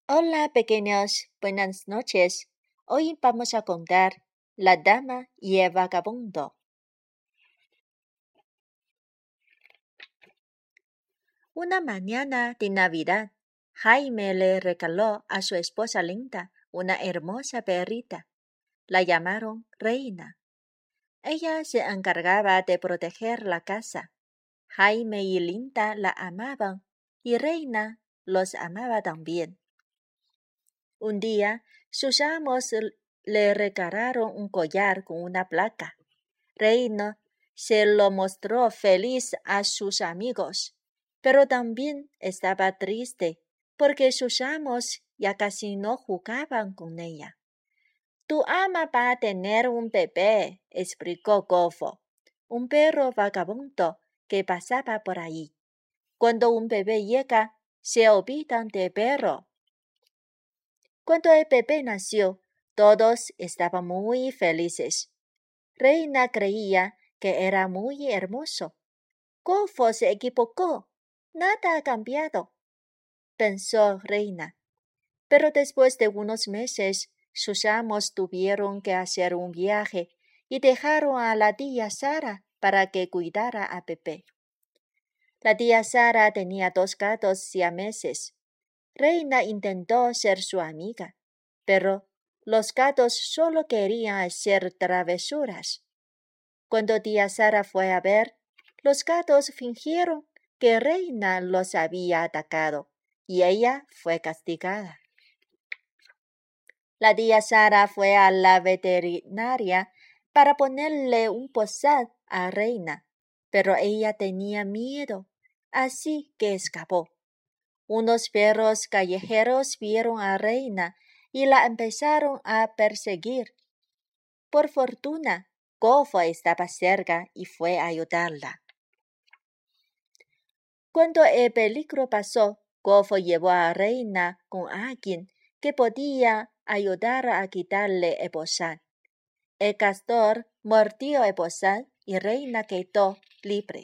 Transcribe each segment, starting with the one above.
Hola, pequeños, buenas noches. Hoy vamos a contar La dama y el vagabundo. Una mañana de Navidad, Jaime le regaló a su esposa Linda una hermosa perrita. La llamaron Reina. Ella se encargaba de proteger la casa. Jaime y Linda la amaban y Reina los amaba también. Un día, sus amos le regalaron un collar con una placa. Reina se lo mostró feliz a sus amigos, pero también estaba triste porque sus amos ya casi no jugaban con ella. Tu ama va a tener un bebé, explicó Gofo, un perro vagabundo que pasaba por ahí. Cuando un bebé llega, se olvidan del perro. Cuando el bebé nació, todos estaban muy felices. Reina creía que era muy hermoso. Gofo se equivocó. Nada ha cambiado, pensó Reina. Pero después de unos meses, sus amos tuvieron que hacer un viaje y dejaron a la tía Sara para que cuidara a bebé. La tía Sara tenía 2 gatos siameses. Reina intentó ser su amiga, pero los gatos solo querían hacer travesuras. Cuando tía Sara fue a ver, los gatos fingieron que Reina los había atacado y ella fue castigada. La tía Sara fue a la veterinaria para ponerle un bozal a Reina, pero ella tenía miedo, así que escapó. Unos perros callejeros vieron a Reina y la empezaron a perseguir. Por fortuna, Gofo estaba cerca y fue a ayudarla. Cuando el peligro pasó, Gofo llevó a Reina con alguien que podía ayudar a quitarle el bozal. El castor mordió el bozal y Reina quedó libre.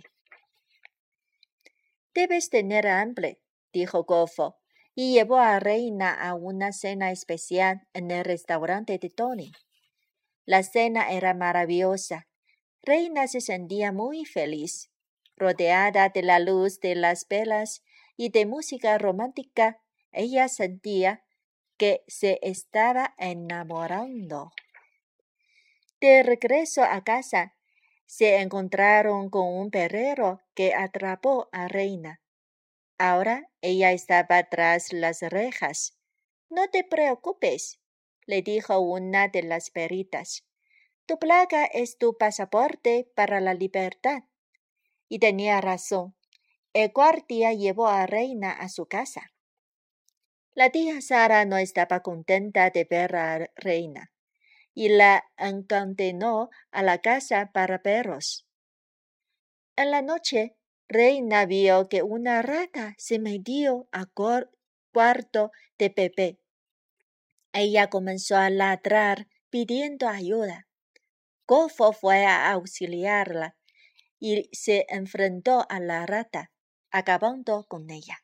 Debes tener hambre, dijo Gofo, y llevó a Reina a una cena especial en el restaurante de Tony. La cena era maravillosa. Reina se sentía muy feliz. Rodeada de la luz de las velas y de música romántica, ella sentía que se estaba enamorando. De regreso a casa, se encontraron con un perrero que atrapó a Reina. Ahora ella estaba tras las rejas. No te preocupes, le dijo una de las peritas. Tu placa es tu pasaporte para la libertad. Y tenía razón. El guardia llevó a Reina a su casa. La tía Sara no estaba contenta de ver a Reina y la encadenó a la casa para perros. En la noche, Reina vio que una rata se metió al cuarto de bebé. Ella comenzó a ladrar pidiendo ayuda. Gofo fue a auxiliarla y se enfrentó a la rata, acabando con ella.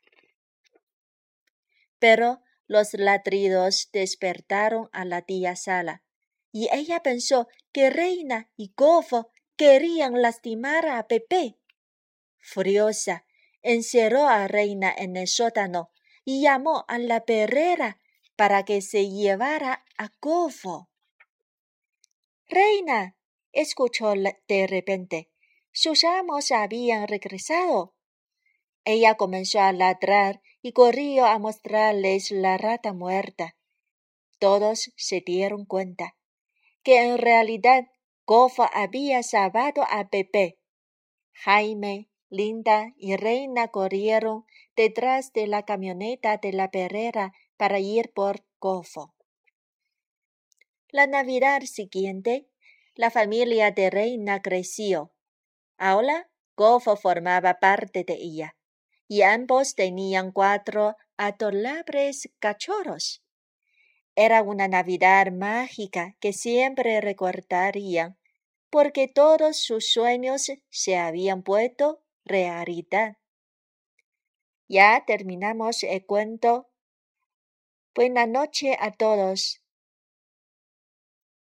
Pero los ladridos despertaron a la tía Sara, y ella pensó que Reina y Gofo querían lastimar a Pepe. Furiosa, encerró a Reina en el sótano y llamó a la perrera para que se llevara a Gofo. Reina, escuchó de repente, sus amos habían regresado. Ella comenzó a ladrar y corrió a mostrarles la rata muerta. Todos se dieron cuenta que en realidad Gofo había salvado a Pepe. Jaime, Linda y Reina corrieron detrás de la camioneta de la perrera para ir por Gofo. La Navidad siguiente, la familia de Reina creció. Ahora Gofo formaba parte de ella, y ambos tenían 4 adorables cachorros. Era una Navidad mágica que siempre recordarían, porque todos sus sueños se habían vuelto realidad. Ya terminamos el cuento. Buenas noches a todos.